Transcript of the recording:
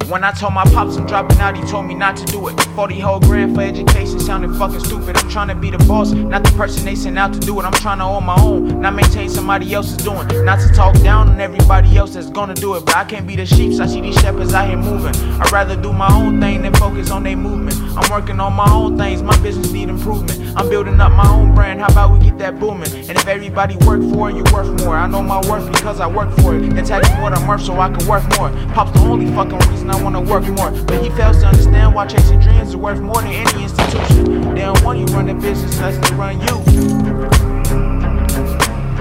When I told my pops I'm dropping out, he told me not to do it. 40 whole grand for education sounded fucking stupid. I'm trying to be the boss, not the person they sent out to do it. I'm trying to own my own, not maintain somebody else's doing. Not to talk down on everybody else that's gonna do it, but I can't be the sheep, so I see these shepherds out here moving. I'd rather do my own thing than focus on their movement. I'm working on my own things, my business need improvement. I'm building up my own brand, how about we get that booming? And if everybody work for it, you worth more. I know my worth because I work for it. Then tell me what I'm worth so I can work more. Pop's the only fucking reason I wanna work more. But he fails to understand why chasing dreams is worth more than any institution. They don't want you running business unless they run you.